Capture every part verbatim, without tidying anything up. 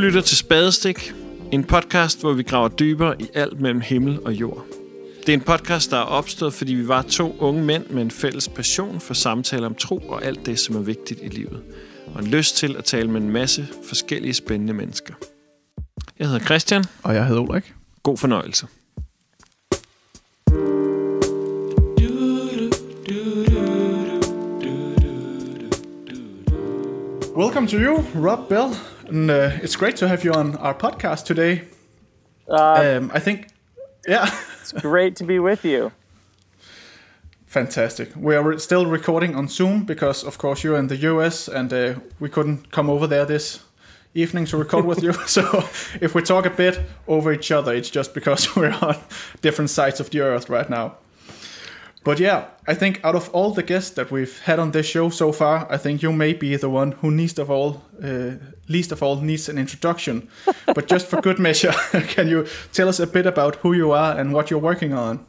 lytter til Spadestik, en podcast, hvor vi graver dybere i alt mellem himmel og jord. Det er en podcast, der er opstået, fordi vi var to unge mænd med en fælles passion for samtaler om tro og alt det, som er vigtigt i livet. Og en lyst til at tale med en masse forskellige spændende mennesker. Jeg hedder Christian. Og jeg hedder Ulrik. God fornøjelse. Welcome to you, Rob Bell. And uh, it's great to have you on our podcast today. Uh, um, I think, yeah. It's great to be with you. Fantastic. We are re- still recording on Zoom because, of course, you're in the U S and uh, we couldn't come over there this evening to record with you. So if we talk a bit over each other, it's just because we're on different sides of the earth right now. But yeah, I think out of all the guests that we've had on this show so far, I think you may be the one who least of all, uh, least of all needs an introduction. But just for good measure, can you tell us a bit about who you are and what you're working on?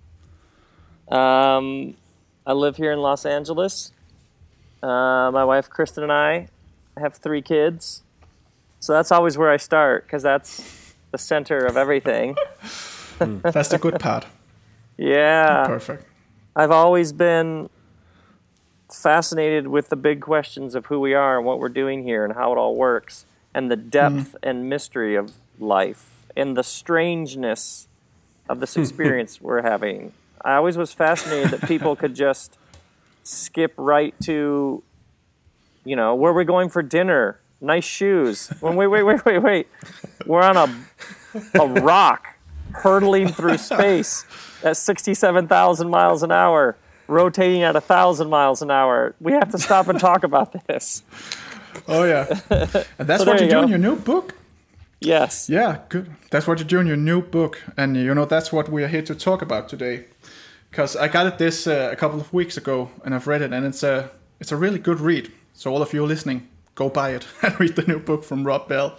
Um, I live here in Los Angeles. Uh, my wife Kristen and I have three kids. So that's always where I start, because that's the center of everything. That's the good part. Yeah. Perfect. I've always been fascinated with the big questions of who we are and what we're doing here and how it all works, and the depth mm. and mystery of life and the strangeness of this experience we're having. I always was fascinated that people could just skip right to, you know, where are we going for dinner? Nice shoes. When wait, wait, wait, wait, wait. We're on a a rock hurtling through space at sixty-seven thousand miles an hour, rotating at one thousand miles an hour. We have to stop and talk about this. Oh, yeah. And that's So what there you you do go. in your new book? Yes. Yeah, good. That's what you do in your new book. And, you know, that's what we are here to talk about today. Because I got it this uh, a couple of weeks ago, and I've read it, and it's a, it's a really good read. So all of you listening, go buy it and read the new book from Rob Bell.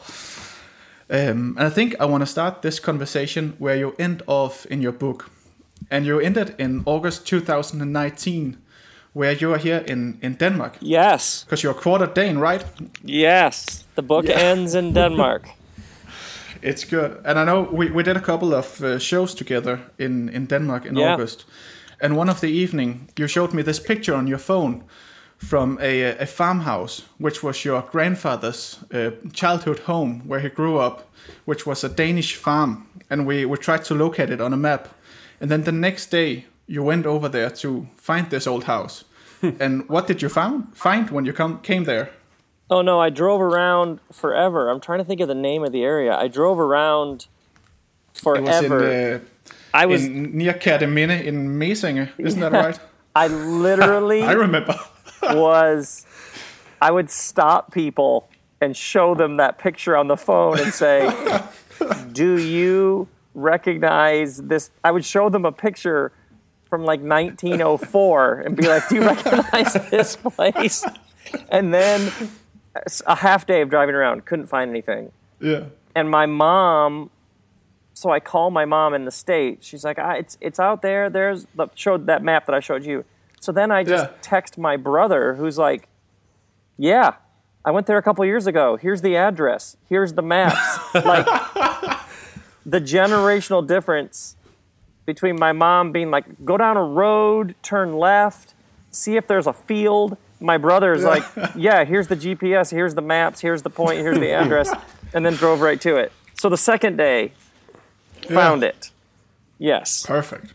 Um, and I think I want to start this conversation where you end off in your book. And you ended in August two thousand nineteen, where you are here in, in Denmark. Yes. Because you're quarter Dane, right? Yes. The book Yeah. ends in Denmark. It's good. And I know we, we did a couple of uh, shows together in, in Denmark in Yeah. August. And one of the evening, you showed me this picture on your phone from a, a farmhouse, which was your grandfather's uh, childhood home where he grew up, which was a Danish farm. And we, we tried to locate it on a map. And then the next day, you went over there to find this old house. And what did you found, find when you come, came there? Oh, no, I drove around forever. I'm trying to think of the name of the area. I drove around forever. It was in, uh, I was in near Kerteminde in Mesinge, isn't that right? I literally I remember. was, I would stop people and show them that picture on the phone and say, do you recognize this? I would show them a picture from like nineteen oh four and be like, do you recognize this place? And then a half day of driving around, couldn't find anything. Yeah. And my mom, so I call my mom in the state. She's like, ah, it's it's out there. There's the showed that map that I showed you. So then I just Yeah. text my brother, who's like, yeah, I went there a couple years ago. Here's the address. Here's the maps. Like the generational difference between my mom being like, go down a road, turn left, see if there's a field. My brother's like, yeah, here's the G P S, here's the maps, here's the point, here's the address, and then drove right to it. So the second day, found Yeah. it. Yes. Perfect.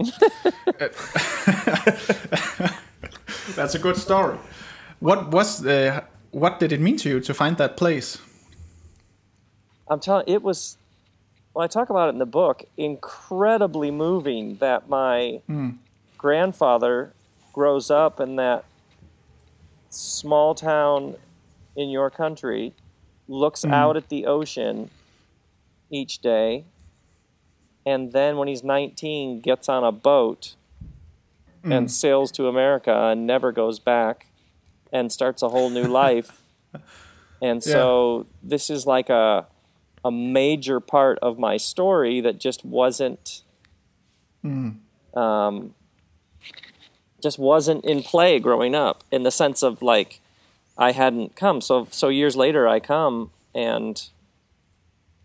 That's a good story. What was the, what did it mean to you to find that place? I'm telling it was, well, I talk about it in the book, incredibly moving that my Mm. grandfather grows up in that small town in your country, looks Mm. out at the ocean each day, and then when he's nineteen gets on a boat Mm. and sails to America and never goes back and starts a whole new life. And so this is like a a major part of my story that just wasn't Mm. um, just wasn't in play growing up, in the sense of like I hadn't come. So so years later I come, and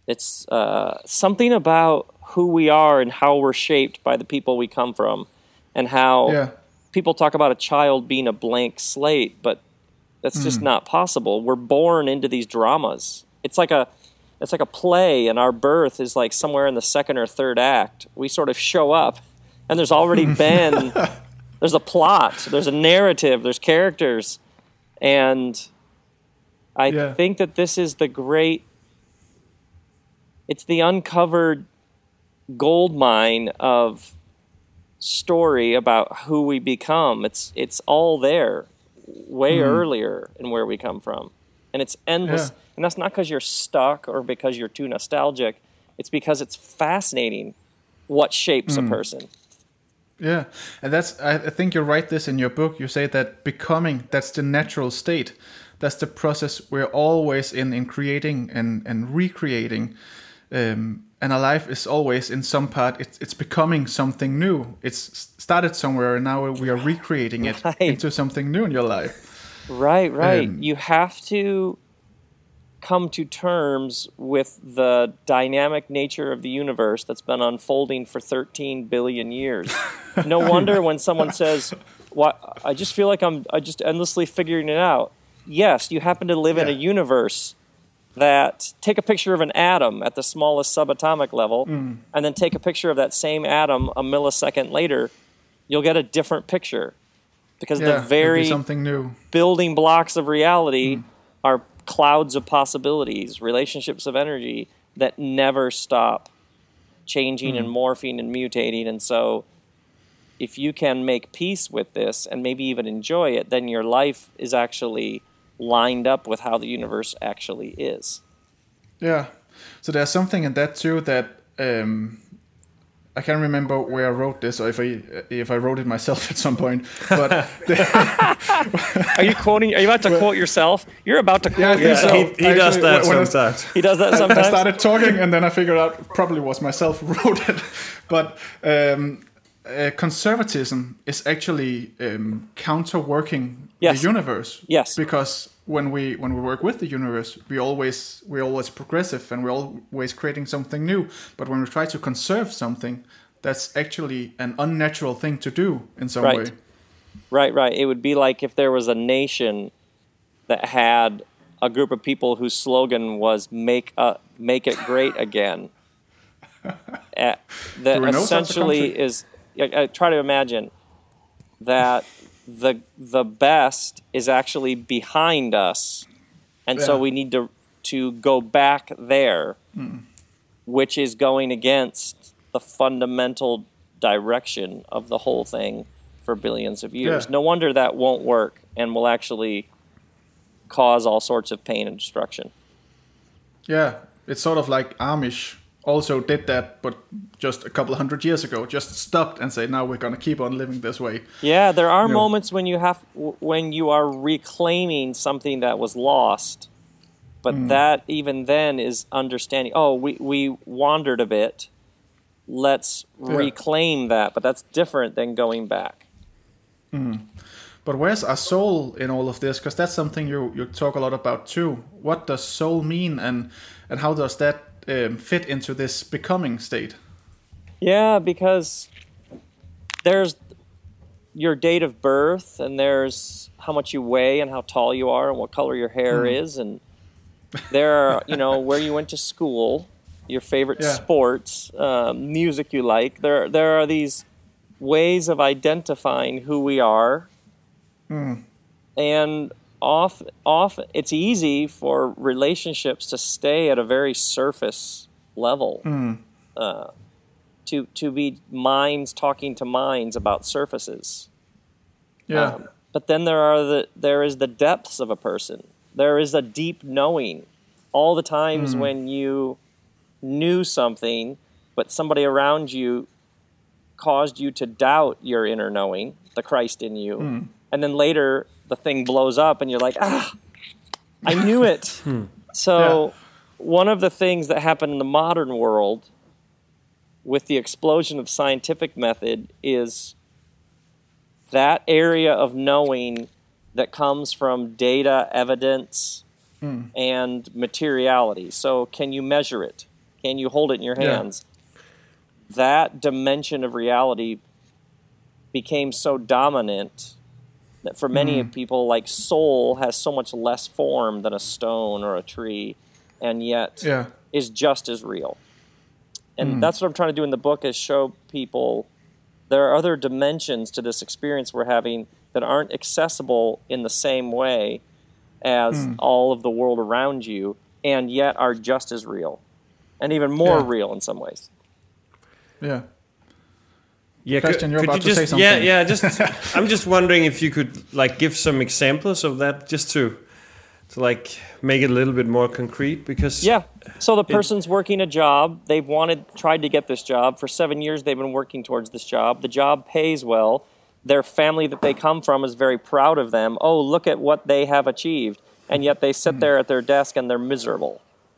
It's uh, something about who we are and how we're shaped by the people we come from, and how Yeah. people talk about a child being a blank slate, but that's just not possible. We're born into these dramas. It's like a it's like a play, and our birth is like somewhere in the second or third act. We sort of show up, and there's already been there's a plot, there's a narrative, there's characters, and I Yeah. think that this is the great. It's the uncovered gold mine of story about who we become. It's it's all there, way Mm. earlier in where we come from, and it's endless. Yeah. And that's not because you're stuck or because you're too nostalgic. It's because it's fascinating what shapes Mm. a person. Yeah, and that's I, I think you write this in your book. You say that becoming, that's the natural state. That's the process we're always in, in creating and, and recreating. Um, and our life is always, in some part, it's, it's becoming something new. It's started somewhere, and now we are recreating it Right. into something new in your life. Right, right. Um, You have to come to terms with the dynamic nature of the universe that's been unfolding for thirteen billion years. No wonder when someone says, "Why I just feel like I'm I just endlessly figuring it out." Yes, you happen to live in a Yeah. universe that take a picture of an atom at the smallest subatomic level Mm. and then take a picture of that same atom a millisecond later, you'll get a different picture. Because Yeah, the it'll be very something new. building blocks of reality are clouds of possibilities, relationships of energy that never stop changing and morphing and mutating. And so if you can make peace with this and maybe even enjoy it, then your life is actually lined up with how the universe actually is. Yeah. So there's something in that too that um, I can't remember where I wrote this, or if I if I wrote it myself at some point. But Are you quoting? Are you about to quote yourself? You're about to quote Yeah, I think yourself. so. He, he does Actually, that when I- sometimes. He does that I sometimes. started talking, and then I figured out it probably was myself who wrote it. But um, uh, conservatism is actually um, counter-working Yes. the universe. Yes. Because when we when we work with the universe, we always we're always progressive, and we're always creating something new. But when we try to conserve something, that's actually an unnatural thing to do in some Right. way. Right, right. It would be like if there was a nation that had a group of people whose slogan was "Make uh, make it great again." uh, that Do we know such a essentially country? is. I, I try to imagine that the the best is actually behind us, and so Yeah. we need to to go back there, which is going against the fundamental direction of the whole thing for billions of years. Yeah. No wonder that won't work and will actually cause all sorts of pain and destruction. Yeah, it's sort of like Amish also did that, but just a couple of hundred years ago, just stopped and said, now we're going to keep on living this way. Yeah, there are No. moments when you have when you are reclaiming something that was lost, but Mm. that even then is understanding. Oh, we we wandered a bit. Let's Yeah. reclaim that, but that's different than going back. But where's our soul in all of this? Because that's something you, you talk a lot about too. What does soul mean, and, and how does that um, fit into this becoming state? Yeah, because there's your date of birth, and there's how much you weigh and how tall you are and what color your hair is, and there are, you know, where you went to school, your favorite Yeah. sports, um, music you like. There, there are these ways of identifying who we are, and often, often it's easy for relationships to stay at a very surface level. Uh, to to be minds talking to minds about surfaces. Yeah. Um, but then there are the there is the depths of a person. There is a deep knowing. All the times when you knew something, but somebody around you caused you to doubt your inner knowing, the Christ in you, and then later the thing blows up and you're like, ah, I knew it. So Yeah. one of the things that happened in the modern world with the explosion of scientific method is that area of knowing that comes from data, evidence, and materiality. So can you measure it? Can you hold it in your hands? Yeah. That dimension of reality became so dominant that for many mm. people, like soul has so much less form than a stone or a tree, and yet yeah. is just as real. And mm. that's what I'm trying to do in the book, is show people there are other dimensions to this experience we're having that aren't accessible in the same way as mm. all of the world around you, and yet are just as real, and even more yeah. real in some ways. Yeah. Yeah, Christian, you're could about you to just, say something. Yeah, yeah. Just, I'm just wondering if you could like give some examples of that, just to, to like make it a little bit more concrete. Because yeah, so the person's it, working a job. They've wanted, tried to get this job for seven years. They've been working towards this job. The job pays well. Their family that they come from is very proud of them. Oh, look at what they have achieved, and yet they sit there at their desk and they're miserable.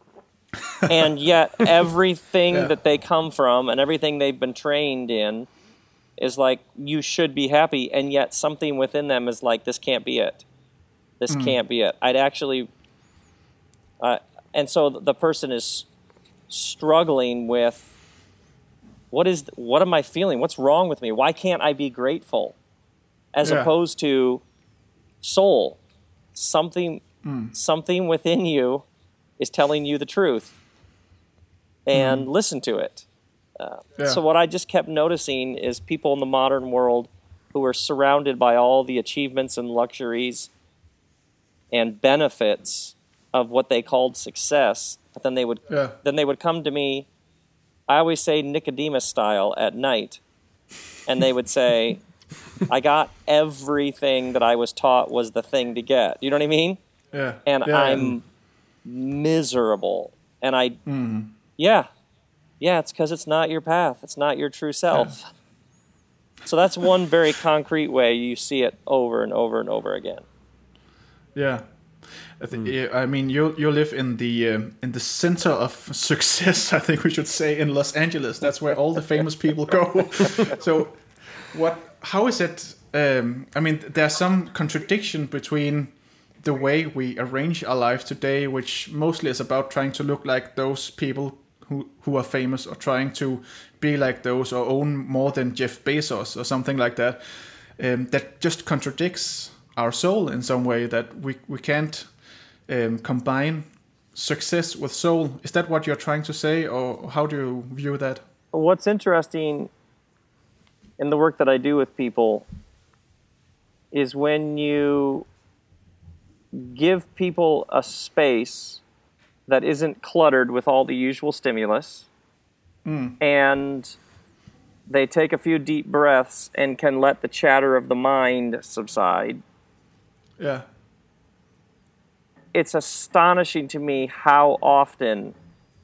And yet everything yeah. that they come from and everything they've been trained in is like, you should be happy, and yet something within them is like, this can't be it. This mm. can't be it. I'd actually... Uh, and so the person is struggling with, what is, what am I feeling? What's wrong with me? Why can't I be grateful? As yeah. opposed to soul. Something, mm. something within you is telling you the truth. And mm. listen to it. Uh, yeah. So what I just kept noticing is people in the modern world who are surrounded by all the achievements and luxuries and benefits of what they called success, but then they would yeah. then they would come to me, I always say Nicodemus style, at night, and they would say, I got everything that I was taught was the thing to get. You know what I mean? Yeah. And yeah. I'm miserable. And I, mm. yeah. Yeah, it's because it's not your path. It's not your true self. Yeah. So that's one very concrete way you see it over and over and over again. Yeah, I think. Mm. I mean, you you live in the uh, in the center of success. I think we should say, in Los Angeles. That's where all the famous people go. So, what? How is it? Um, I mean, there's some contradiction between the way we arrange our life today, which mostly is about trying to look like those people who who are famous, or trying to be like those, or own more than Jeff Bezos or something like that. Um, that just contradicts our soul in some way, that we we can't um, combine success with soul. Is that what you're trying to say, or how do you view that? What's interesting in the work that I do with people is when you give people a space that isn't cluttered with all the usual stimulus, mm. and they take a few deep breaths and can let the chatter of the mind subside. Yeah. It's astonishing to me how often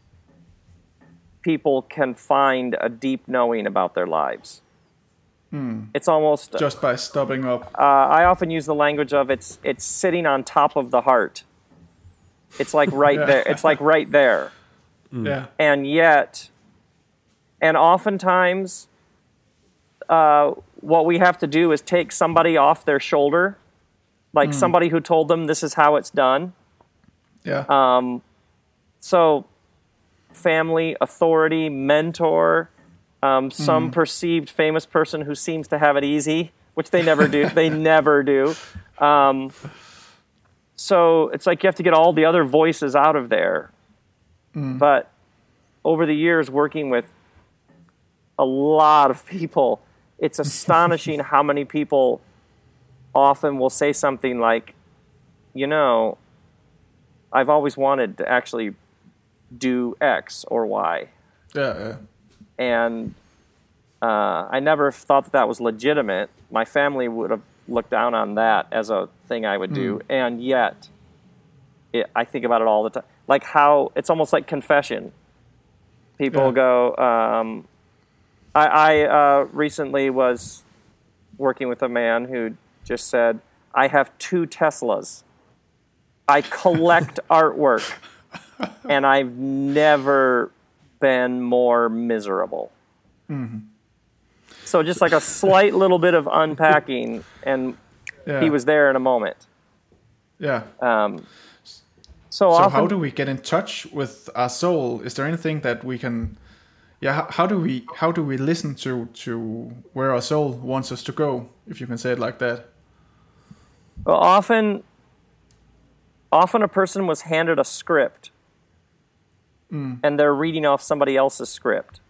people can find a deep knowing about their lives. Mm. It's almost... just by stopping up. Uh, I often use the language of it's it's sitting on top of the heart. It's like right yeah. there. It's like right there. Mm. Yeah. And yet, and oftentimes, uh, what we have to do is take somebody off their shoulder, like mm. somebody who told them this is how it's done. Yeah. Um, so, family, authority, mentor, um, some mm. perceived famous person who seems to have it easy, which they never do. They never do. Um, So it's like you have to get all the other voices out of there. Mm. But over the years, working with a lot of people, it's astonishing how many people often will say something like, you know, I've always wanted to actually do X or Y. Yeah, yeah. And uh, I never thought that that was legitimate. My family would have looked down on that as a thing I would do, mm. and yet it, I think about it all the time. Like how it's almost like confession. People yeah. go. Um, I, I uh, recently was working with a man who just said, "I have two Teslas. I collect artwork, and I've never been more miserable." Mm-hmm. So just like a slight little bit of unpacking, and yeah. he was there in a moment. Yeah. Um, So, So often, how do we get in touch with our soul? Is there anything that we can? Yeah, how, how do we how do we listen to to where our soul wants us to go? If you can say it like that. well, often, often a person was handed a script, Mm. and they're reading off somebody else's script,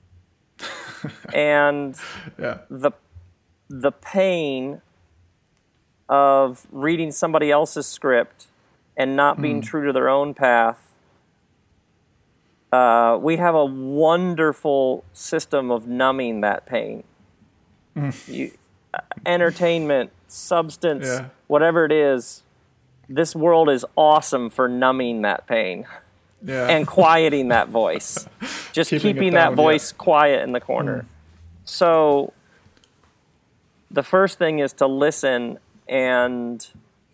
and Yeah. the the pain of reading somebody else's script and not being Mm. true to their own path. Uh, we have a wonderful system of numbing that pain. Mm. You, uh, entertainment, substance, Yeah. whatever it is, this world is awesome for numbing that pain Yeah. and quieting that voice. Just Keeping it keeping down, that voice quiet in the corner. Mm. So the first thing is to listen and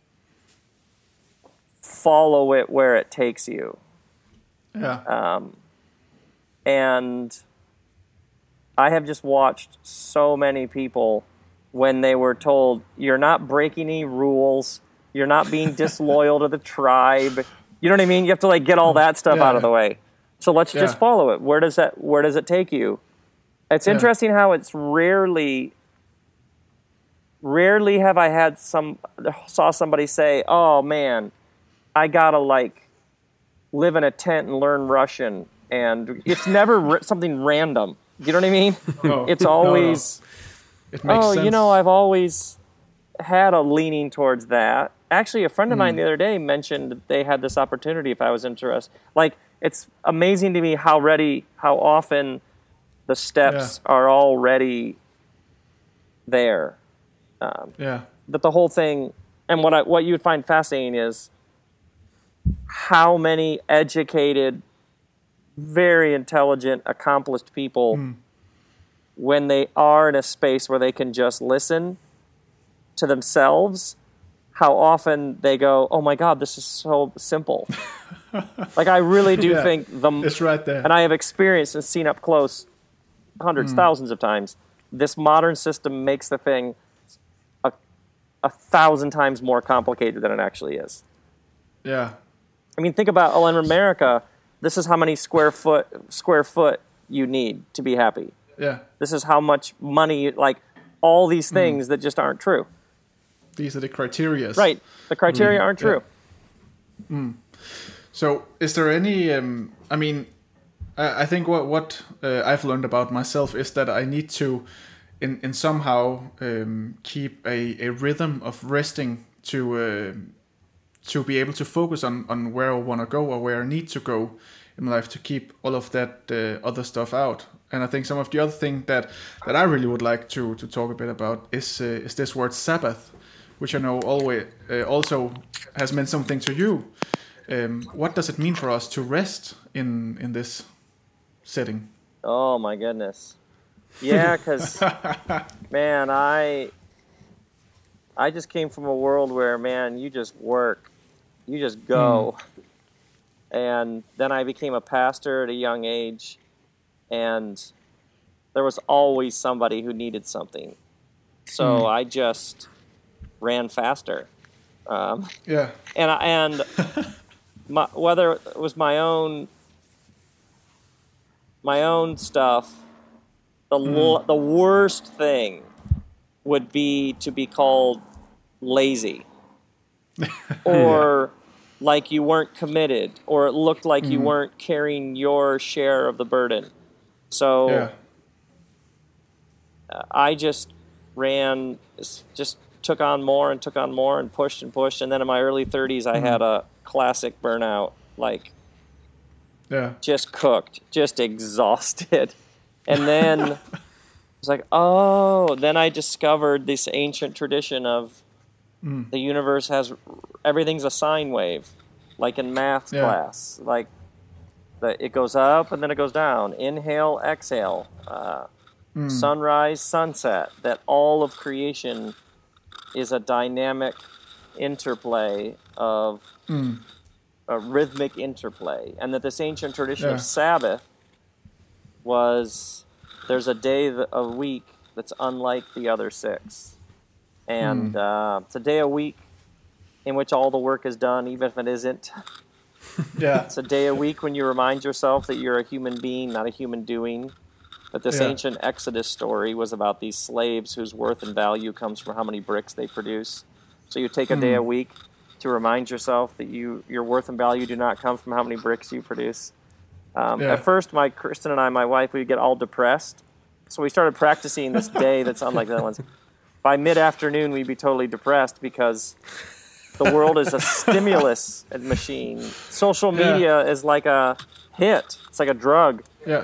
follow it where it takes you. Yeah. Um, and I have just watched so many people when they were told, you're not breaking any rules, you're not being disloyal to the tribe. You know what I mean? You have to like get all that stuff Yeah, out of the yeah. way. So let's Yeah. just follow it. Where does that where does it take you? It's Yeah. interesting how it's rarely rarely have I had some saw somebody say, "Oh man, I got to like live in a tent and learn Russian." And it's never r- something random. You know what I mean? No. It's No, no. always It makes oh, sense. you know, I've always had a leaning towards that. Actually, a friend of mine the other day mentioned that they had this opportunity if I was interested. Like, it's amazing to me how ready, how often the steps are already there. Um, Yeah. but the whole thing, and what I, what you would find fascinating is how many educated, very intelligent, accomplished people, Mm. when they are in a space where they can just listen to themselves, how often they go, "Oh my God, this is so simple." Like, I really do Yeah, think the It's right there. and I have experienced and seen up close hundreds, thousands of times, this modern system makes the thing a, a thousand times more complicated than it actually is. Yeah. I mean, think about, oh, in America, this is how many square foot square foot you need to be happy. Yeah. This is how much money, you, like all these things that just aren't true. These are the criteria. Right. The criteria Mm, aren't true. So, is there any? Um, I mean, I, I think what what uh, I've learned about myself is that I need to, in in somehow um, keep a, a rhythm of resting to uh, to be able to focus on on where I want to go or where I need to go in my life, to keep all of that uh, other stuff out. And I think some of the other thing that that I really would like to to talk a bit about is uh, is this word Sabbath, which I know always uh, also has meant something to you. Um, what does it mean for us to rest in in this setting? Oh my goodness. Yeah, because man, I I just came from a world where, man, you just work, you just go, and then I became a pastor at a young age, and there was always somebody who needed something, so I just ran faster, um, Yeah, and I, and my, whether it was my own my own stuff, the l- the worst thing would be to be called lazy, or like you weren't committed, or it looked like you weren't carrying your share of the burden. So yeah, uh, I just ran, just took on more and took on more and pushed and pushed. And then in my early thirties, I had a classic burnout, like yeah, just cooked, just exhausted. And then it's like, oh, then I discovered this ancient tradition of the universe has, everything's a sine wave, like in math Yeah. class. Like the, it goes up and then it goes down. Inhale, exhale, uh, sunrise, sunset. That all of creation is a dynamic interplay of a rhythmic interplay, and that this ancient tradition Yeah. of Sabbath was, there's a day th- a week that's unlike the other six, and uh, it's a day a week in which all the work is done, even if it isn't Yeah. It's a day a week when you remind yourself that you're a human being, not a human doing. But this Yeah. ancient Exodus story was about these slaves whose worth and value comes from how many bricks they produce. So you take a day a week to remind yourself that you your worth and value do not come from how many bricks you produce. Um, Yeah. At first, my Kristen and I, my wife, we would get all depressed. So we started practicing this day that's unlike the other ones. By mid-afternoon, we'd be totally depressed because the world is a stimulus machine. Social media Yeah. is like a hit. It's like a drug. Yeah.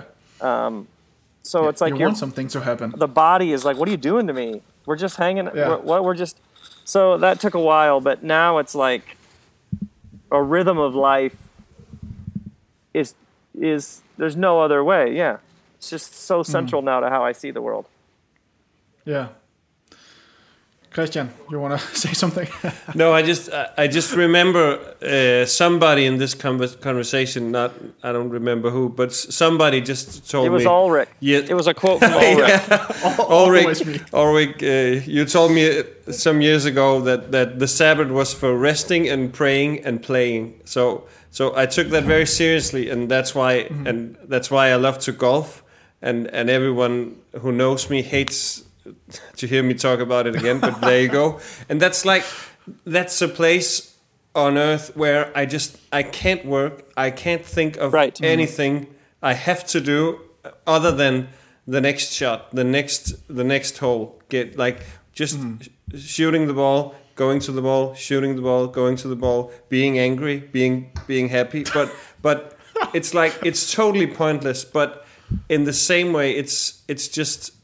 So it's like you you're, want something to happen. the body is like, what are you doing to me? We're just hanging. Yeah. We're, what we're just. So that took a while, but now it's like a rhythm of life. Is is there's no other way? Yeah, it's just so central now to how I see the world. Yeah. Christian, you want to say something? No, I just I, I just remember uh, somebody in this conver- conversation. Not I don't remember who, but s- somebody just told It was me. Ulrich. Yeah. It was a quote from Ulrich. Always me. Ulrich, Ulrich uh, you told me uh, some years ago that, that the Sabbath was for resting and praying and playing. So so I took that very seriously, and that's why mm-hmm. and that's why I love to golf. And and everyone who knows me hates to hear me talk about it again. But there you go. And that's like that's a place on earth where I just I can't work. I can't think of Right. anything mm-hmm. I have to do other than the next shot, the next the next hole. Get like just mm. sh- shooting the ball, going to the ball, shooting the ball, going to the ball, being angry, being being happy. But but it's like it's totally pointless. But in the same way, it's it's just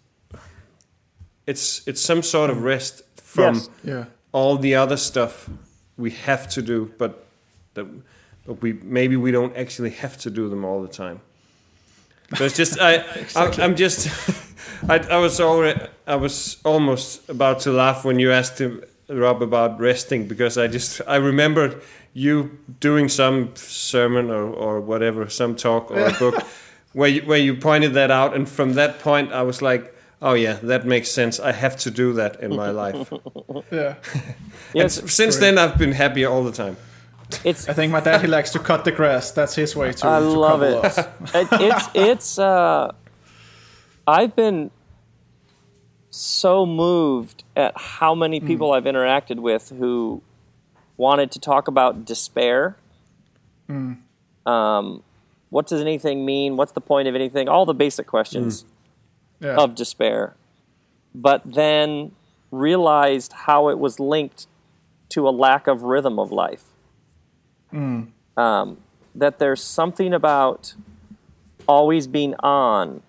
it's it's some sort of rest from Yes. Yeah. all the other stuff we have to do, but that but we maybe we don't actually have to do them all the time. So it's just I, Exactly. I I'm just I, I was already I was almost about to laugh when you asked him, Rob, about resting, because I just I remembered you doing some sermon or, or whatever, some talk or a book where you, where you pointed that out, and from that point I was like, oh yeah, that makes sense. I have to do that in my life. Yeah. Yes, And since then, I've been happy all the time. it's I think my dad, he likes to cut the grass. That's his way to, I to love couple it. us. it, it's it's uh I've been so moved at how many people mm. I've interacted with who wanted to talk about despair. Mm. Um, what does anything mean? What's the point of anything? All the basic questions mm. yeah. of despair. But then realized how it was linked to a lack of rhythm of life. Mm. Um, that there's something about always being on,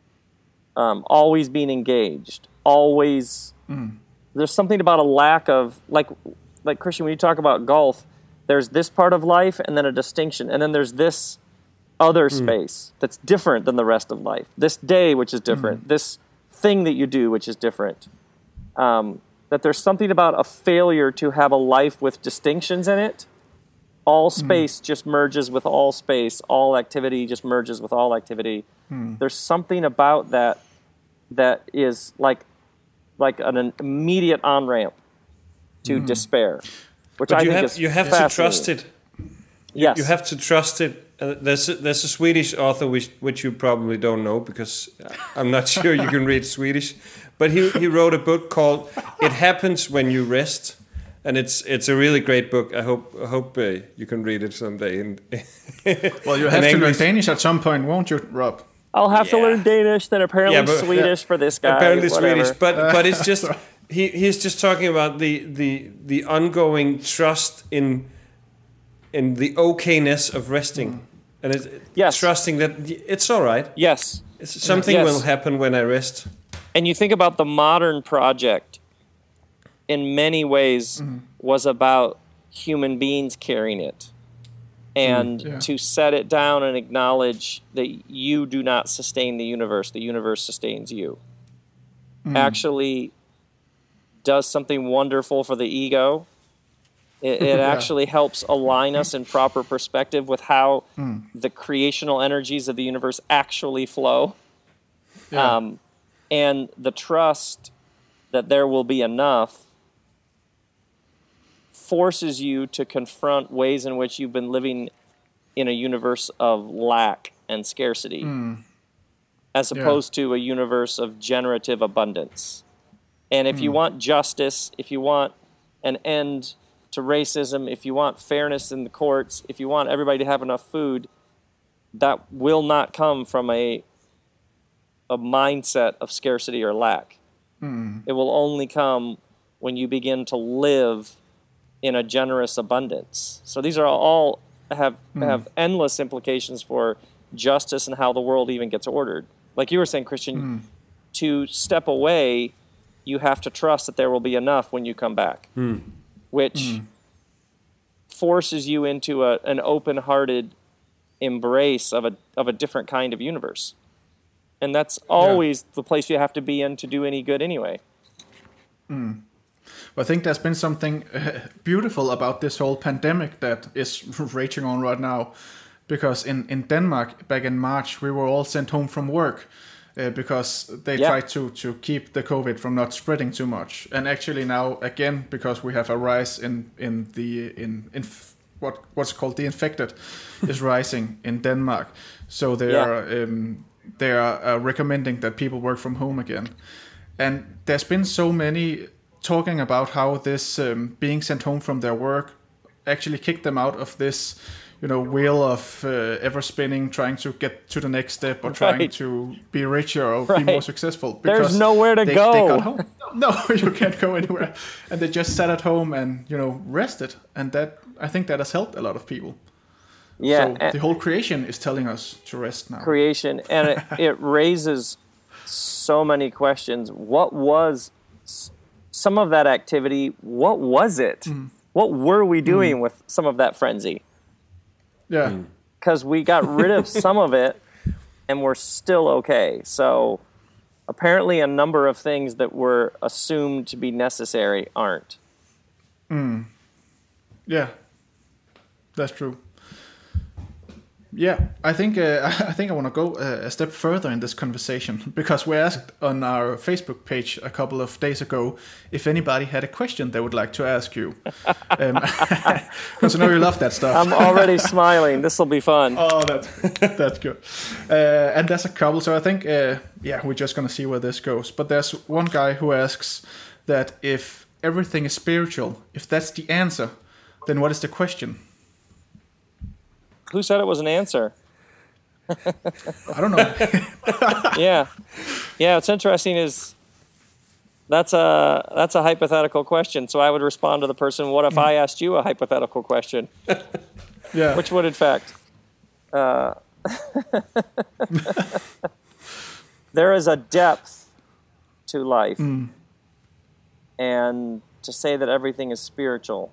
um, always being engaged, always. Mm. There's something about a lack of, like, like Christian, when you talk about golf, there's this part of life and then a distinction, and then there's this other mm. space that's different than the rest of life. This day, which is different. Mm. This thing that you do, which is different. Um, that there's something about a failure to have a life with distinctions in it. All space mm. just merges with all space. All activity just merges with all activity. Mm. There's something about that that is like like an immediate on-ramp to mm. despair, which but I you think have, is you have to trust it. Yes. You have to trust it. Uh, there's, a, there's a Swedish author which, which you probably don't know, because I'm not sure you can read Swedish, but he, he wrote a book called It Happens When You Rest. And it's it's a really great book. I hope I hope uh, you can read it someday. In, well, you have to English. learn Danish at some point, won't you, Rob? I'll have yeah. to learn Danish, then apparently yeah, but, Swedish yeah. for this guy. Apparently whatever. Swedish, but but it's just he he's just talking about the the the ongoing trust in in the okayness of resting, mm. and it's yes. trusting that it's all right. Yes, it's, something yes. will happen when I rest. And you think about the modern project. In many ways, mm-hmm. was about human beings carrying it. And mm, yeah. to set it down and acknowledge that you do not sustain the universe, the universe sustains you. Mm. Actually does something wonderful for the ego. It, it yeah. actually helps align us in proper perspective with how mm. the creational energies of the universe actually flow. Yeah. Um, and the trust that there will be enough forces you to confront ways in which you've been living in a universe of lack and scarcity, mm. as opposed yeah. to a universe of generative abundance. And if mm. you want justice, if you want an end to racism, if you want fairness in the courts, if you want everybody to have enough food, that will not come from a a mindset of scarcity or lack. Mm. It will only come when you begin to live in a generous abundance. So these are all have mm. have endless implications for justice and how the world even gets ordered. Like you were saying, Christian, mm. to step away, you have to trust that there will be enough when you come back, mm. which mm. forces you into a, an open-hearted embrace of a of a different kind of universe. And that's always yeah. the place you have to be in to do any good anyway. Mm. Well, I think there's been something uh, beautiful about this whole pandemic that is raging on right now. Because in, in Denmark, back in March, we were all sent home from work uh, because they yeah. tried to, to keep the COVID from not spreading too much. And actually now, again, because we have a rise in, in the... in, in what what's called the infected is rising in Denmark. So they yeah. are... Um, They are uh, recommending that people work from home again. And there's been so many talking about how this um, being sent home from their work actually kicked them out of this, you know, wheel of uh, ever spinning, trying to get to the next step or trying right. to be richer or right. be more successful. There's nowhere to they, go. They got home. No, you can't go anywhere. And they just sat at home and, you know, rested. And that, I think that has helped a lot of people. Yeah, so the whole creation is telling us to rest now. Creation, and it, it raises so many questions. What was some of that activity? What was it? Mm. What were we doing mm. with some of that frenzy? Yeah. Because we got rid of some of it, and we're still okay. So apparently a number of things that were assumed to be necessary aren't. Mm. Yeah, that's true. Yeah, I think uh, I think I want to go uh, a step further in this conversation because we asked on our Facebook page a couple of days ago if anybody had a question they would like to ask you. Because um, I know you love that stuff. I'm already smiling. This will be fun. Oh, that's that's good. Uh, and there's a couple, so I think uh, yeah, we're just gonna see where this goes. But there's one guy who asks that if everything is spiritual, if that's the answer, then what is the question? Who said it was an answer? I don't know. yeah, yeah. What's interesting is that's a that's a hypothetical question. So I would respond to the person, "What if I asked you a hypothetical question?" Yeah. Which would, in fact, uh, there is a depth to life, mm. and to say that everything is spiritual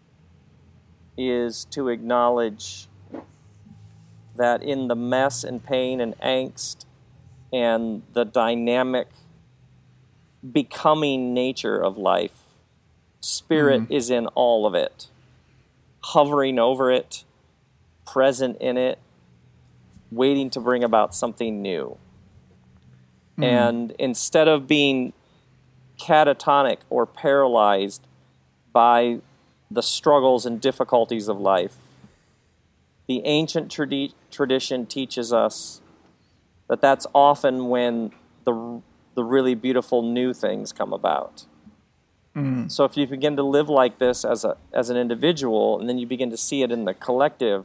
is to acknowledge that in the mess and pain and angst and the dynamic becoming nature of life, spirit mm-hmm. is in all of it, hovering over it, present in it, waiting to bring about something new. Mm-hmm. And instead of being catatonic or paralyzed by the struggles and difficulties of life, the ancient tradi- tradition teaches us that that's often when the the really beautiful new things come about. Mm. So if you begin to live like this as a as an individual, and then you begin to see it in the collective,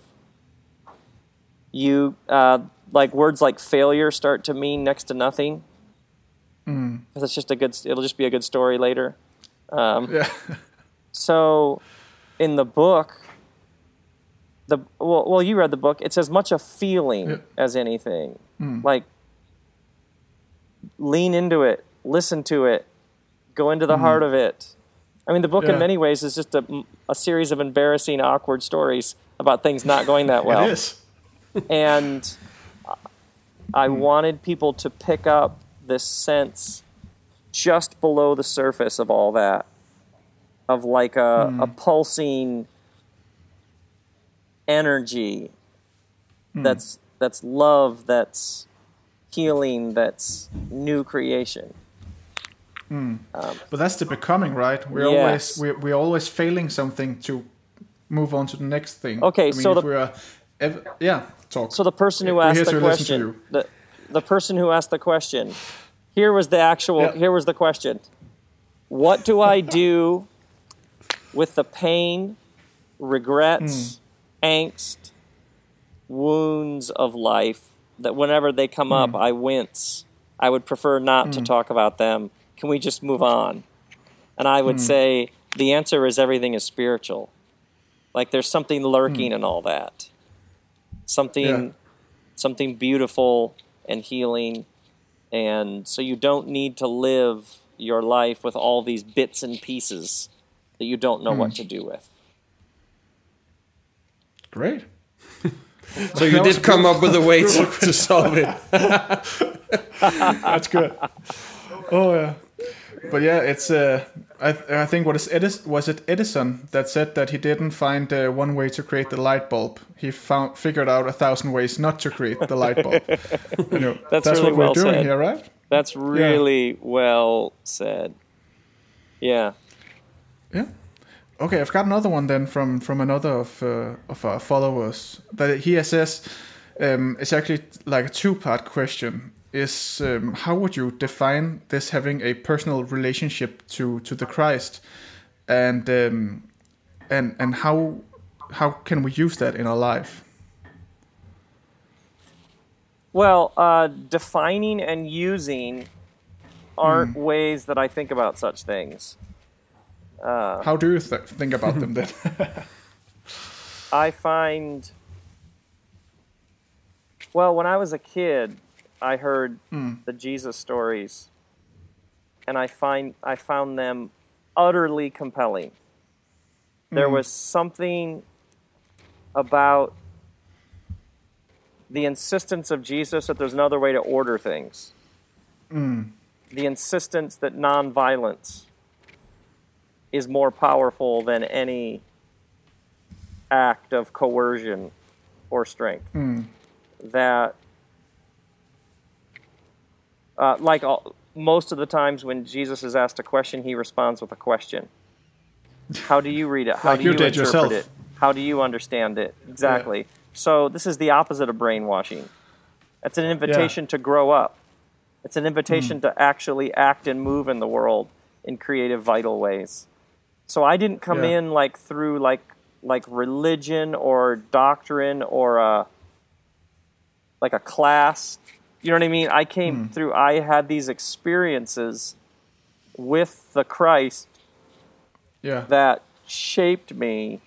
you uh, like words like failure start to mean next to nothing. Mm. It's just a good. It'll just be a good story later. Um, yeah. So, in the book. The, well, well, you read the book. It's as much a feeling yeah. as anything. Mm. Like, lean into it, listen to it, go into the mm. heart of it. I mean, the book yeah. in many ways is just a, a series of embarrassing, awkward stories about things not going that well. It is. And I mm. wanted people to pick up this sense just below the surface of all that, of like a, mm. a pulsing energy mm. that's that's love, that's healing, that's new creation. Mm. Um, but that's the becoming, right? We're yes. always we're, we're always failing something to move on to the next thing. Okay, I mean, so if the, we're Ev- yeah, talk. So the person who We're asked here the to listen to question, you. the, the person who asked the question, here was the actual, Yeah. here was the question. What do I do with the pain, regrets, angst, wounds of life that whenever they come up, I wince? I would prefer not to talk about them. Can we just move on? And I would say the answer is everything is spiritual. Like there's something lurking in all that. Something Yeah. something beautiful and healing. And so you don't need to live your life with all these bits and pieces that you don't know what to do with. Great. So you That was did come good. up with a way to, to solve it. That's good. Oh yeah, but yeah, it's. Uh, I I think what is Edis was it Edison that said that he didn't find uh, one way to create the light bulb. He found figured out a thousand ways not to create the light bulb. You know, That's that's really what well we're doing said. here, right? That's really well said. Yeah. Yeah. Okay, I've got another one then from from another of uh, of our followers that he says um, it's actually like a two part question. Is um, how would you define this having a personal relationship to, to the Christ, and um, and and how how can we use that in our life? Well, uh, defining and using aren't ways that I think about such things. Uh, How do you th- think about them then? I find, well, when I was a kid, I heard the Jesus stories, and I find I found them utterly compelling. There was something about the insistence of Jesus that there's another way to order things. The insistence that nonviolence is more powerful than any act of coercion or strength. That, uh, like all, most of the times when Jesus is asked a question, he responds with a question. How do you read it? How Like do you you, did interpret yourself. it? How do you understand it? Exactly. So this is the opposite of brainwashing. It's an invitation to grow up. It's an invitation to actually act and move in the world in creative, vital ways. So I didn't come Yeah. in like through like like religion or doctrine or a like a class. You know what I mean? I came through. I had these experiences with the Christ Yeah. that shaped me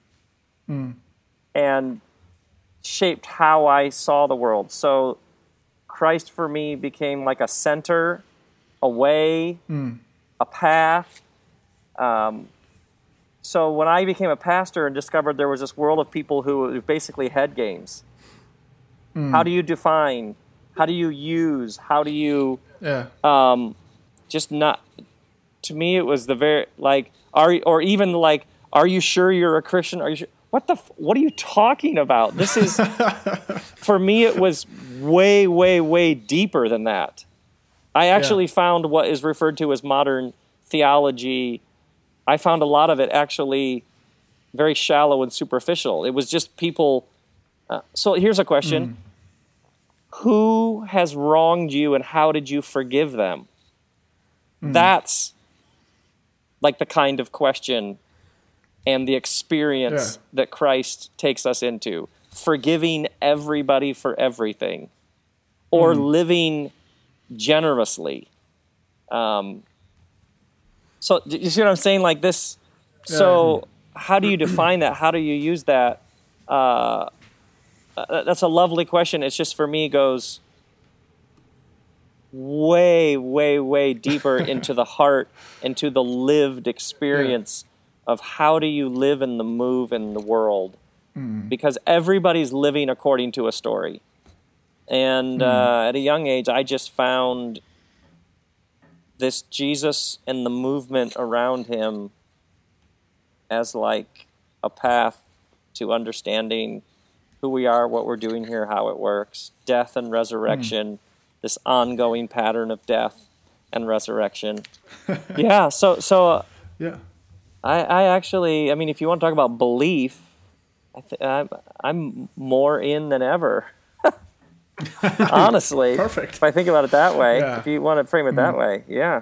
and shaped how I saw the world. So Christ for me became like a center, a way, a path. Um, so when I became a pastor and discovered there was this world of people who were basically head games. How do you define? How do you use? How do you Yeah. um, just not? To me, it was the very like are you- or even like, are you sure you're a Christian? Are you sure? What the? f- What are you talking about? This is for me. It was way, way, way deeper than that. I actually found what is referred to as modern theology. I found a lot of it actually very shallow and superficial. It was just people. Uh, so here's a question: who has wronged you, and how did you forgive them? That's like the kind of question and the experience Yeah. that Christ takes us into. Forgiving everybody for everything, or living generously. Um, so do you see what I'm saying? Like this. So how do you define that? How do you use that? Uh, uh, that's a lovely question. It's just for me goes way, way, way deeper into the heart, into the lived experience of how do you live in the move in the world. Because everybody's living according to a story. And uh, at a young age, I just found this Jesus and the movement around him as like a path to understanding who we are, what we're doing here, how it works, death and resurrection, this ongoing pattern of death and resurrection. yeah, so so uh, Yeah. I, I actually, I mean, if you want to talk about belief, I th- I'm, I'm more in than ever. Honestly. Perfect. If I think about it that way, Yeah. if you want to frame it that way, yeah.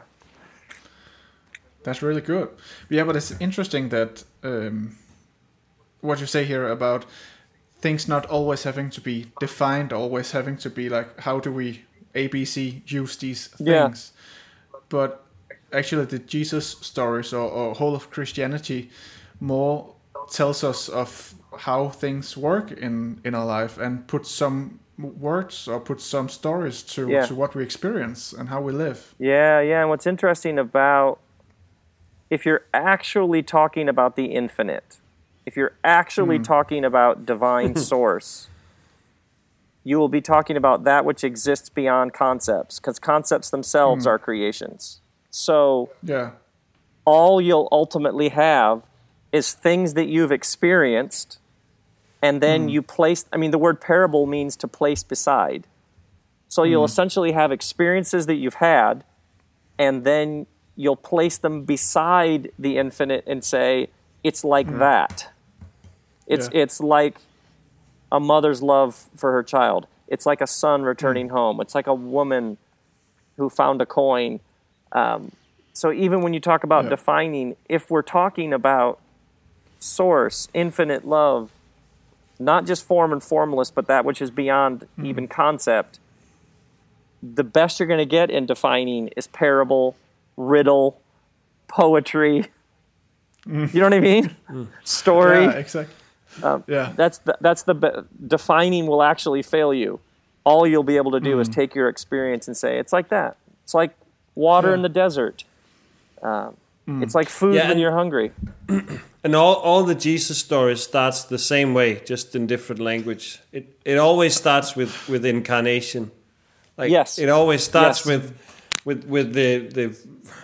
That's really good. Yeah, but it's interesting that um, what you say here about things not always having to be defined, always having to be like, how do we A B C use these things? Yeah. But actually, the Jesus stories or, or whole of Christianity more tells us of how things work in, in our life and put some words or put some stories to, yeah. to what we experience and how we live. Yeah, yeah. And what's interesting about if you're actually talking about the infinite, if you're actually mm. talking about divine source, you will be talking about that which exists beyond concepts, because concepts themselves mm. are creations. So yeah. all you'll ultimately have is things that you've experienced, and then mm. you place, I mean, the word parable means to place beside. So you'll mm. essentially have experiences that you've had, and then you'll place them beside the infinite and say, it's like mm. that. It's yeah. it's like a mother's love for her child. It's like a son returning mm. home. It's like a woman who found a coin. Um, so even when you talk about yeah. defining, if we're talking about source, infinite love, not just form and formless, but that which is beyond mm. even concept, the best you're going to get in defining is parable, riddle, poetry. Mm. You know what I mean? Mm. Story. Yeah, exactly. Um, yeah. That's the, that's the be- defining will actually fail you. All you'll be able to do mm. is take your experience and say, it's like that. It's like water yeah. in the desert. Um, mm. It's like food yeah, when you're hungry. And all, all the Jesus stories starts the same way, just in different language. It it always starts with, with incarnation. Like yes. It always starts yes. with with with the the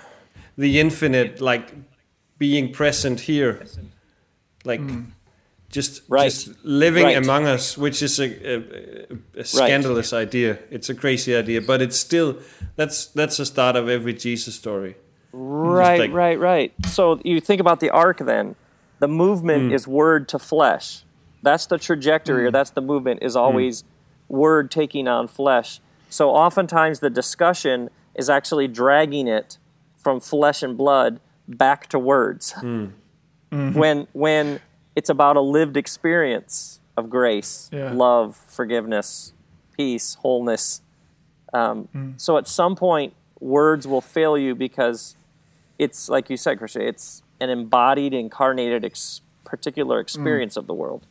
the infinite, like being present here, like mm. just right. just living right. among us, which is a, a, a scandalous right. idea. It's a crazy idea, but it's still that's that's the start of every Jesus story. Right, like, right, right. So you think about the ark then. The movement mm. is word to flesh. That's the trajectory, mm. or that's the movement, is always mm. word taking on flesh. So oftentimes the discussion is actually dragging it from flesh and blood back to words. Mm. Mm-hmm. When when it's about a lived experience of grace, yeah. love, forgiveness, peace, wholeness. Um, mm. So at some point, words will fail you because it's, like you said, Christian, it's an embodied, incarnated ex- particular experience mm. of the world.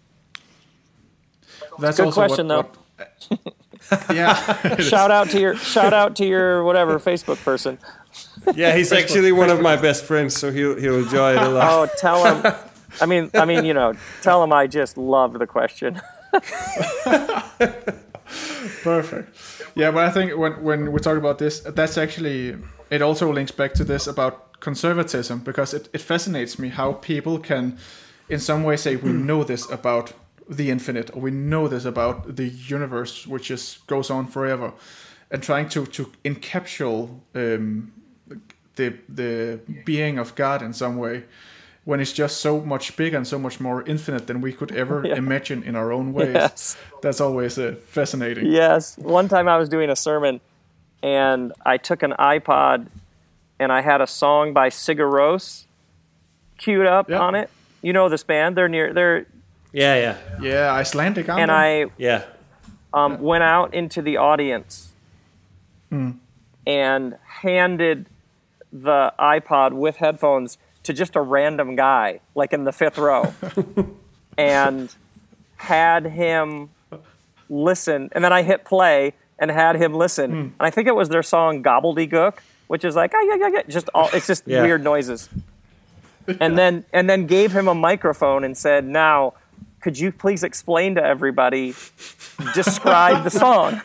That's good also question, what, though. What, yeah. shout out to your shout out to your whatever Facebook person. Yeah, he's Facebook, actually one Facebook. of my best friends, so he'll he'll enjoy it a lot. Oh, tell him. I mean, I mean, you know, tell him I just loved the question. Perfect. Yeah, but I think when when we talk about this, that's actually, it also links back to this about conservatism, because it, it fascinates me how people can in some way say we know this about the infinite, or we know this about the universe, which just goes on forever, and trying to to encapsulate um, the the being of God in some way, when it's just so much bigger and so much more infinite than we could ever yeah. imagine in our own ways. Yes. That's always uh, fascinating. Yes. One time I was doing a sermon, and I took an iPod, and I had a song by Sigur Rós queued up yeah. on it. You know this band? They're near. They're yeah, yeah, yeah. Icelandic. And I yeah um, yeah. went out into the audience mm. and handed the iPod with headphones to just a random guy, like in the fifth row, and had him listen. And then I hit play and had him listen. Mm. And I think it was their song Gobbledygook, which is like, ah, yeah, yeah, yeah. Just all, it's just yeah. weird noises. And then and then gave him a microphone and said, now, could you please explain to everybody, describe the song?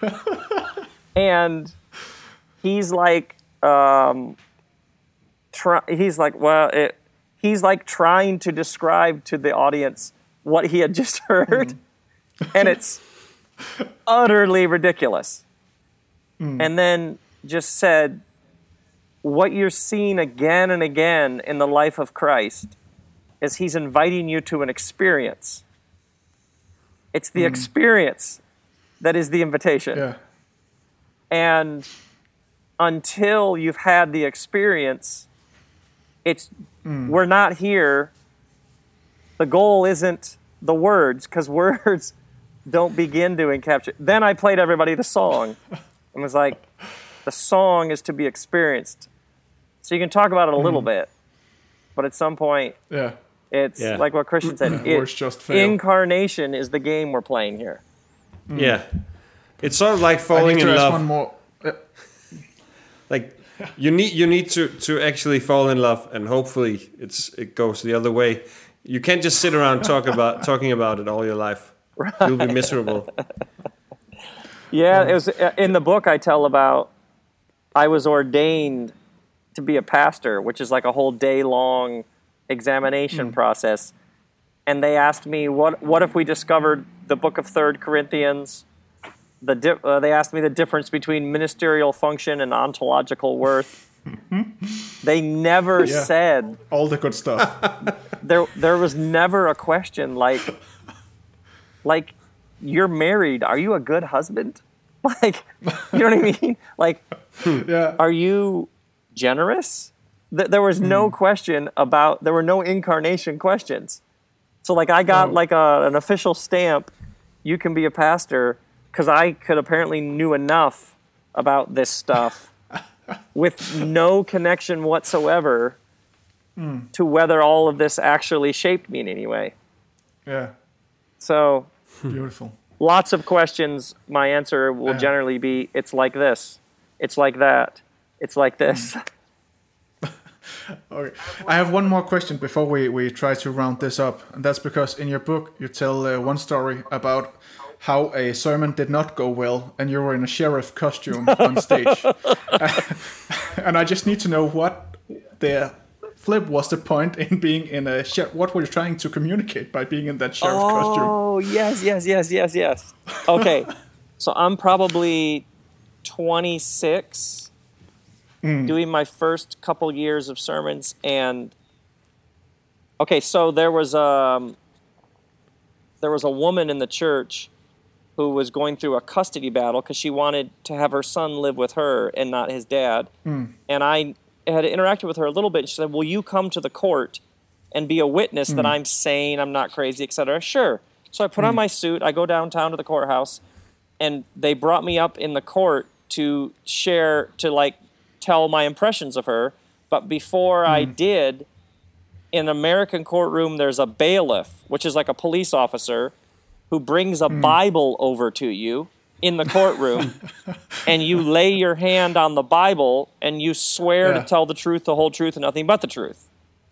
And he's like, um, try, he's like, well, it, he's like trying to describe to the audience what he had just heard. Mm. And it's utterly ridiculous. Mm. And then just said, what you're seeing again and again in the life of Christ is he's inviting you to an experience. It's the mm. experience that is the invitation. Yeah. And until you've had the experience, it's mm. we're not here. The goal isn't the words, because words don't begin to encapture. Then I played everybody the song and was like, the song is to be experienced. So you can talk about it a little mm. bit, but at some point, yeah. it's yeah. like what Christian said. Words just fail. Incarnation is the game we're playing here. Mm. Yeah. It's sort of like falling in love. One more. Uh, like you need you need to, to actually fall in love, and hopefully it's it goes the other way. You can't just sit around talk about talking about it all your life. Right. You'll be miserable. Yeah, it was in the book I tell about. I was ordained to be a pastor, which is like a whole day long examination mm. process. And they asked me, what what if we discovered the book of Third Corinthians? The di- uh, they asked me the difference between ministerial function and ontological worth. They never yeah. said all the good stuff. there there was never a question like like you're married, are you a good husband? Like, you know what I mean? Like, yeah. Are you generous? Th- there was no mm. question about, there were no incarnation questions. So, like, I got, oh. like, a, an official stamp, you can be a pastor, because I could apparently knew enough about this stuff with no connection whatsoever mm. to whether all of this actually shaped me in any way. Yeah. So. Beautiful. Lots of questions. My answer will yeah. generally be, it's like this. It's like that. It's like this. Okay. I have one more question before we, we try to round this up. And that's because in your book, you tell uh, one story about how a sermon did not go well and you were in a sheriff costume on stage. And I just need to know what the flip was the point in being in a sheriff. What were you trying to communicate by being in that sheriff oh, costume? Oh, yes, yes, yes, yes, yes. Okay. So I'm probably twenty-six, mm. doing my first couple years of sermons. And, okay, so there was, um, there was a woman in the church who was going through a custody battle because she wanted to have her son live with her and not his dad. Mm. And I had interacted with her a little bit. She said, will you come to the court and be a witness mm. that I'm sane, I'm not crazy, et cetera? Sure. So I put mm. on my suit, I go downtown to the courthouse, and they brought me up in the court to share, to like tell my impressions of her. But before mm. I did, in an American courtroom, there's a bailiff, which is like a police officer, who brings a mm. Bible over to you in the courtroom, and you lay your hand on the Bible, and you swear yeah. to tell the truth, the whole truth, and nothing but the truth.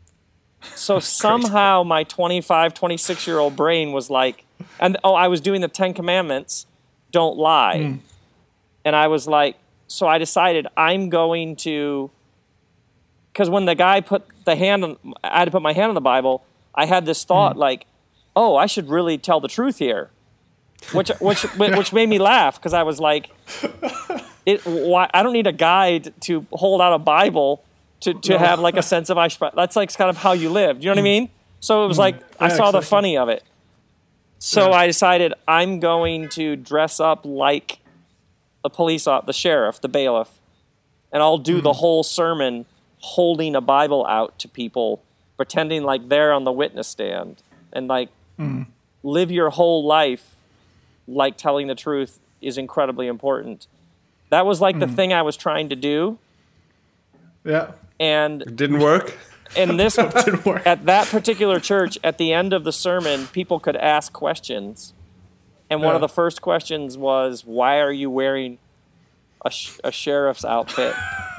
So somehow my twenty-five, twenty-six-year-old brain was like, and oh, I was doing the Ten Commandments, don't lie. Mm. And I was like, so I decided I'm going to, because when the guy put the hand on, I had to put my hand on the Bible, I had this thought mm. like, oh, I should really tell the truth here. Which which which made me laugh because I was like, it, why, I don't need a guide to hold out a Bible to, to no. have like a sense of, I that's like kind of how you live. You know what I mean? So it was like, I saw the funny of it. So yeah. I decided I'm going to dress up like the police, the sheriff, the bailiff, and I'll do mm. the whole sermon holding a Bible out to people, pretending like they're on the witness stand, and like mm. live your whole life like telling the truth is incredibly important. That was like mm. the thing I was trying to do. Yeah. And it didn't work. And this didn't work. At that particular church, at the end of the sermon, people could ask questions. And one yeah. of the first questions was, why are you wearing a, sh- a sheriff's outfit?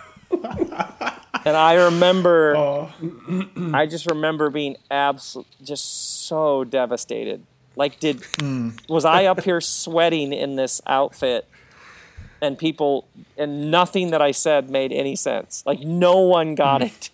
And I remember, oh. I just remember being absolutely just so devastated. Like, did mm. was I up here sweating in this outfit, and people, and nothing that I said made any sense. Like, no one got it.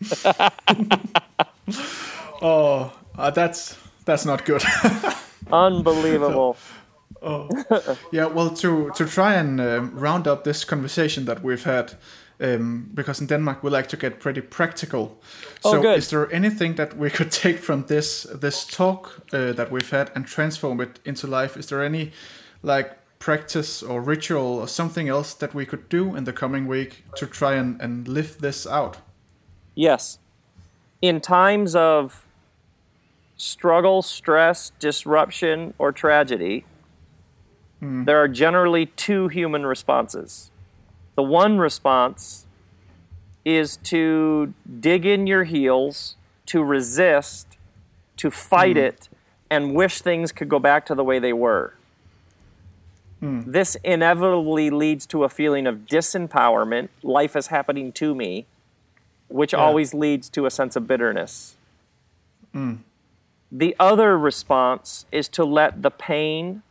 oh, uh, that's that's not good. Unbelievable. Oh, yeah. Well, to to try and uh, round up this conversation that we've had, Um, because in Denmark we like to get pretty practical. Oh, so good. is there anything that we could take from this this talk uh, that we've had and transform it into life? Is there any like practice or ritual or something else that we could do in the coming week to try and, and live this out? Yes. In times of struggle, stress, disruption, or tragedy, mm. there are generally two human responses. The one response is to dig in your heels, to resist, to fight mm. it, and wish things could go back to the way they were. Mm. This inevitably leads to a feeling of disempowerment, life is happening to me, which yeah. always leads to a sense of bitterness. Mm. The other response is to let the pain,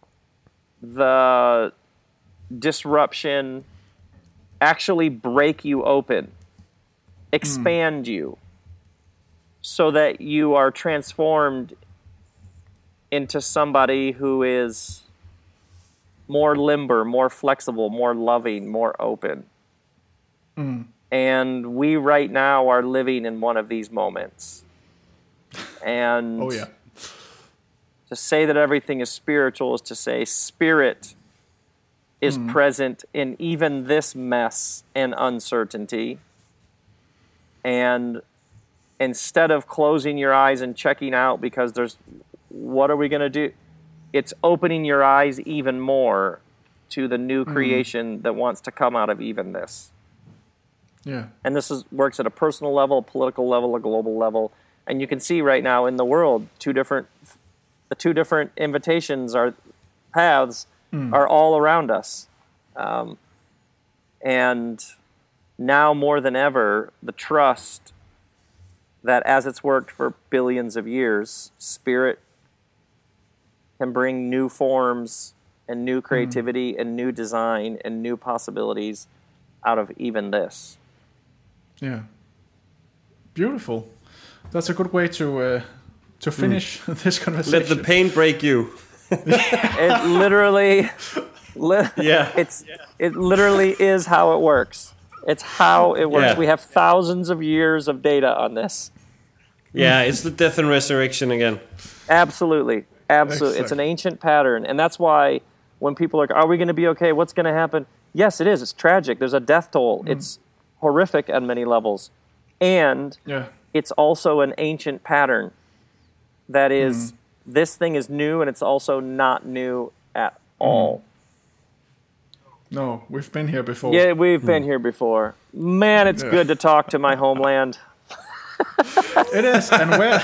the disruption, actually break you open, expand mm. you, so that you are transformed into somebody who is more limber, more flexible, more loving, more open. Mm. And we right now are living in one of these moments. And oh, yeah. to say that everything is spiritual is to say spirit is mm. present in even this mess and uncertainty. And instead of closing your eyes and checking out because there's, what are we going to do? It's opening your eyes even more to the new creation mm. that wants to come out of even this. Yeah. And this is works at a personal level, a political level, a global level. And you can see right now in the world, two different, the two different invitations are paths mm. are all around us. Um, and now more than ever, the trust that as it's worked for billions of years, spirit can bring new forms and new creativity mm. and new design and new possibilities out of even this. Yeah. Beautiful. That's a good way to uh, to finish mm. this conversation. Let the pain break you. It literally, li- yeah. It's it literally is how it works. It's how it works. Yeah. We have thousands of years of data on this. Yeah, it's the death and resurrection again. Absolutely, absolutely. It's an ancient pattern, and that's why when people are, are we going to be okay? What's going to happen? Yes, it is. It's tragic. There's a death toll. Mm. It's horrific at many levels, and yeah. it's also an ancient pattern that is, mm. this thing is new, and it's also not new at all. Mm. No, we've been here before. Yeah, we've mm. been here before. Man, it's yeah. good to talk to my homeland. It is, and where?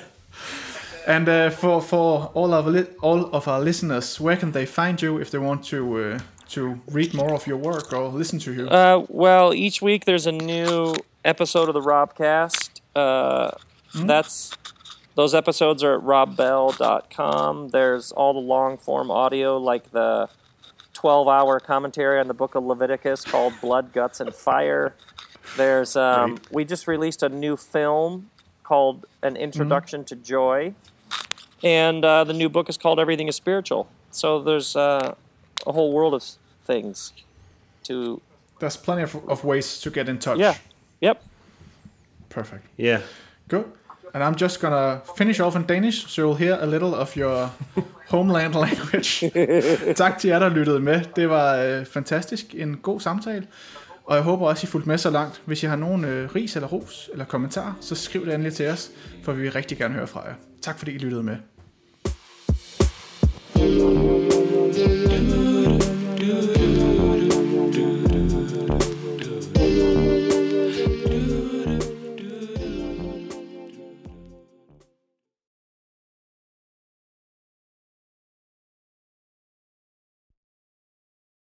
And uh, for for all of li- all of our listeners, where can they find you if they want to uh, to read more of your work or listen to you? Uh, well, each week there's a new episode of the Robcast. Uh, mm. That's those episodes are at rob bell dot com. There's all the long form audio, like the twelve hour commentary on the Book of Leviticus called Blood, Guts, and Fire. There's um, we just released a new film called An Introduction mm. to Joy, and uh, the new book is called Everything is Spiritual. So there's uh, a whole world of things to. There's plenty of, of ways to get in touch. Yeah. Yep. Perfect. Yeah. Good. And I'm just gonna finish off in Danish, so you'll hear a little of your homeland language. Tak til jer, der lyttede med. Det var øh, fantastisk. En god samtale. Og jeg håber også, I fulgte med så langt. Hvis I har nogen øh, ris eller ros eller kommentarer, så skriv det endelig til os, for vi vil rigtig gerne høre fra jer. Tak fordi I lyttede med.